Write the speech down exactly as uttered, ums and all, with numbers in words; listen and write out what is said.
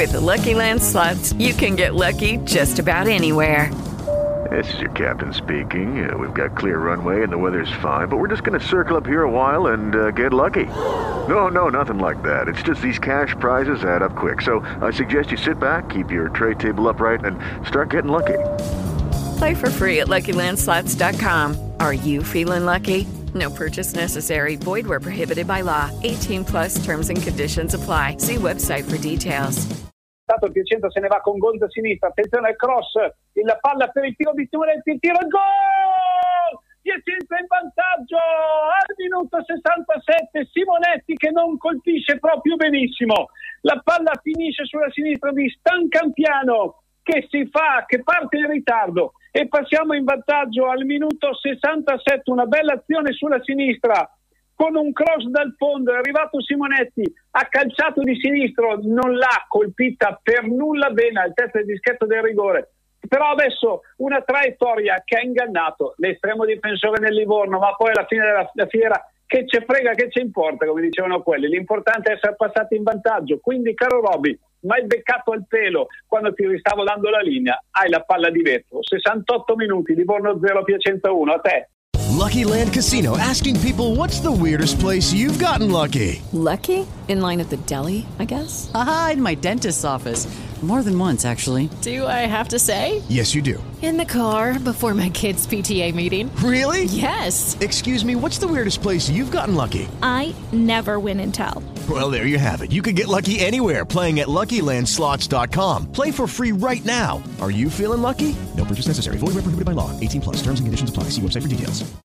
With the Lucky Land Slots, you can get lucky just about anywhere. This is your captain speaking. Uh, we've got clear runway and the weather's fine, but we're just going to circle up here a while and uh, get lucky. No, no, nothing like that. It's just these cash prizes add up quick. So I suggest you sit back, keep your tray table upright, and start getting lucky. Play for free at Lucky Land Slots dot com. Are you feeling lucky? No purchase necessary. Void where prohibited by law. eighteen plus terms and conditions apply. See website for details. Il Piacenza se ne va con gol da sinistra, attenzione al cross, la palla per il tiro di Simonetti, il tiro al gol! Piacenza in vantaggio al minuto sessantasette, Simonetti che non colpisce proprio benissimo, la palla finisce sulla sinistra di Stancampiano che si fa, che parte in ritardo e passiamo in vantaggio al minuto sessantasette, una bella azione sulla sinistra. Con un cross dal fondo è arrivato Simonetti, ha calciato di sinistro, non l'ha colpita per nulla bene al terzo del dischetto del rigore, però adesso una traiettoria che ha ingannato l'estremo difensore del Livorno, ma poi alla fine della fiera che ce frega, che ci importa, come dicevano quelli, l'importante è essere passati in vantaggio. Quindi caro Roby, mai beccato al pelo quando ti stavo dando la linea, hai la palla di vetro. Sessantotto minuti, Livorno zero, Piacenza uno, a te. Lucky Land Casino, asking people, what's the weirdest place you've gotten lucky? Lucky? In line at the deli, I guess? Aha, in my dentist's office. More than once, actually. Do I have to say? Yes, you do. In the car before my kids' P T A meeting. Really? Yes. Excuse me, what's the weirdest place you've gotten lucky? I never win and tell. Well, there you have it. You can get lucky anywhere, playing at Lucky Land Slots dot com. Play for free right now. Are you feeling lucky? No purchase necessary. Void where prohibited by law. eighteen plus. Terms and conditions apply. See website for details.